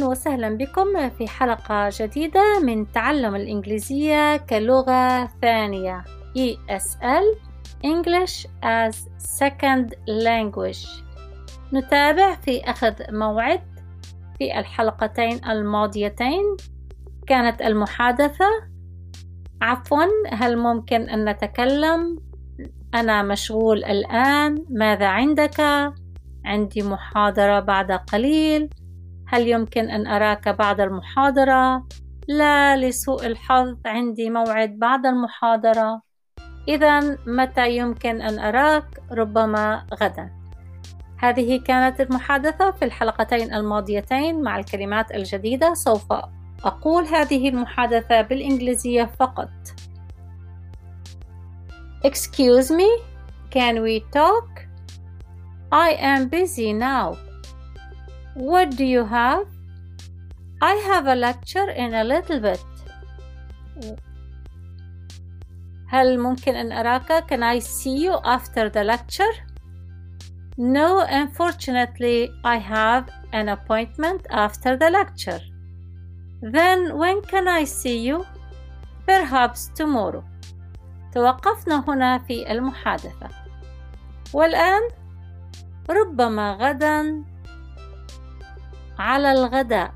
وسهلا بكم في حلقة جديدة من تعلم الإنجليزية كلغة ثانية ESL English as Second Language. نتابع في أخذ موعد. في الحلقتين الماضيتين كانت المحادثة هل ممكن أن نتكلم؟ أنا مشغول الآن. ماذا عندك؟ عندي محاضرة بعد قليل. هل يمكن أن أراك بعد المحاضرة؟ لا، لسوء الحظ عندي موعد بعد المحاضرة. إذن متى يمكن أن أراك؟ ربما غدا. هذه كانت المحادثة في الحلقتين الماضيتين مع الكلمات الجديدة. سوف أقول هذه المحادثة بالإنجليزية فقط. Excuse me, can we talk? I am busy now. What do you have? I have a lecture in a little bit. هل ممكن أن أراك؟ Can I see you after the lecture? No, unfortunately, I have an appointment after the lecture. Then when can I see you? Perhaps tomorrow. توقفنا هنا في المحادثة. والآن ربما غدا. على الغداء.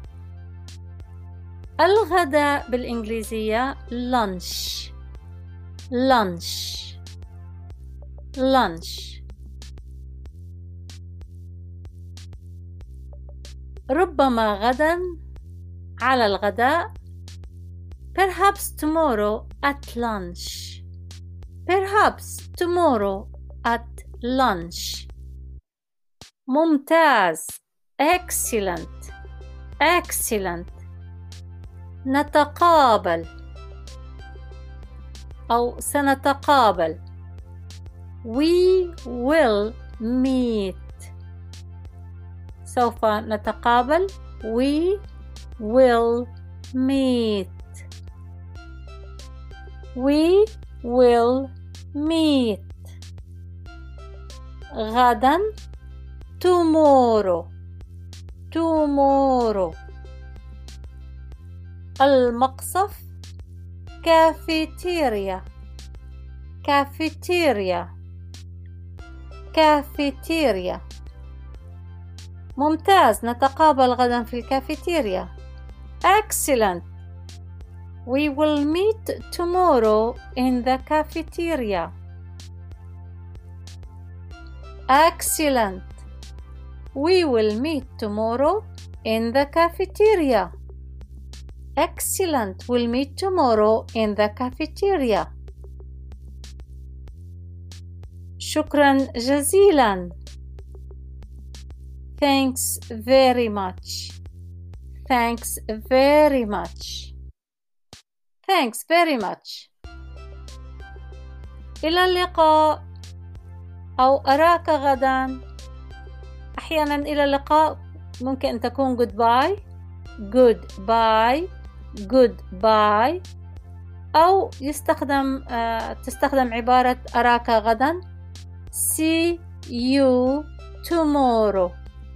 الغداء بالإنجليزية lunch. lunch lunch. ربما غدا على الغداء. Perhaps tomorrow at lunch. Perhaps tomorrow at lunch. ممتاز. Excellent. Excellent. نتقابل أو سنتقابل. We will meet. سوف نتقابل. We will meet. We will meet. غدا. tomorrow. tomorrow. المقصف. cafeteria. cafeteria. cafeteria. ممتاز. نتقابل غدا في الكافيتيريا. Excellent. We will meet tomorrow in the cafeteria. Excellent. We will meet tomorrow in the cafeteria. Excellent. We'll meet tomorrow in the cafeteria. شكرا جزيلا. Thanks very much. Thanks very much. Thanks very much. إلى اللقاء أو أراك غدا. أحيانا إلى اللقاء ممكن أن تكون goodbye. goodbye. goodbye. أو تستخدم عبارة أراك غدا. see you tomorrow.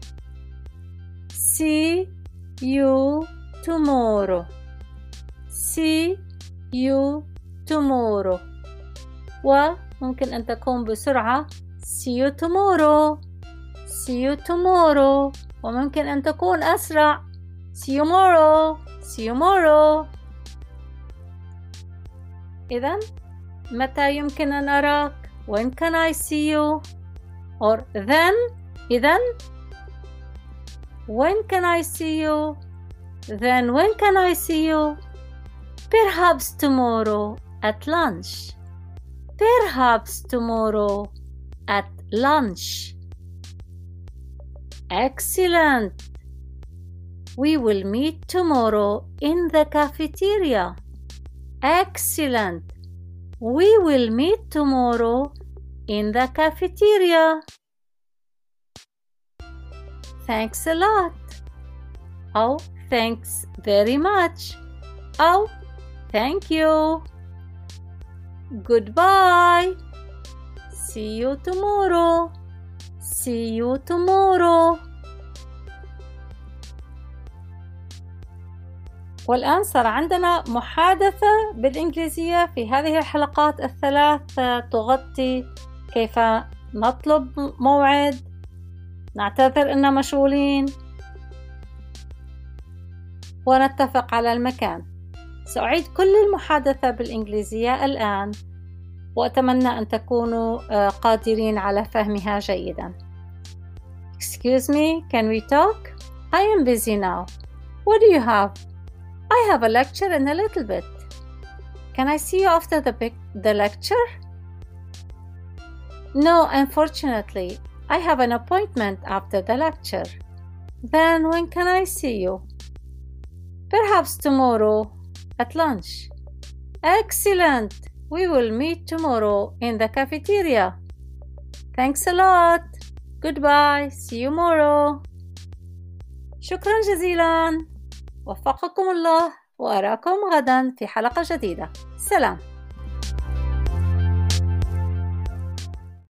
see you tomorrow. see you tomorrow. وممكن أن تكون بسرعة see you tomorrow. see you tomorrow. وممكن أن تكون أسرع see you tomorrow. see you tomorrow. إذن متى يمكن أن أراك؟ When can I see you? Or then. إذن when can I see you? Then when can I see you? Perhaps tomorrow at lunch. Perhaps tomorrow at lunch. Excellent. We will meet tomorrow in the cafeteria. Excellent. We will meet tomorrow in the cafeteria. Thanks a lot. Oh, thanks very much. Oh, thank you. Goodbye. See you tomorrow. See you tomorrow. والآن صار عندنا محادثة بالإنجليزية في هذه الحلقات الثلاث تغطي كيف نطلب موعد، نعتذر إننا مشغولين، ونتفق على المكان. سأعيد كل المحادثة بالإنجليزية الآن، وأتمنى أن تكونوا قادرين على فهمها جيدا. Excuse me, can we talk? I am busy now. What do you have? I have a lecture in a little bit. Can I see you after the lecture? No, unfortunately. I have an appointment after the lecture. Then when can I see you? Perhaps tomorrow at lunch. Excellent! We will meet tomorrow in the cafeteria. Thanks a lot. Goodbye. See you tomorrow. شكرا جزيلا. وفقكم الله، وأراكم غدا في حلقة جديدة. سلام.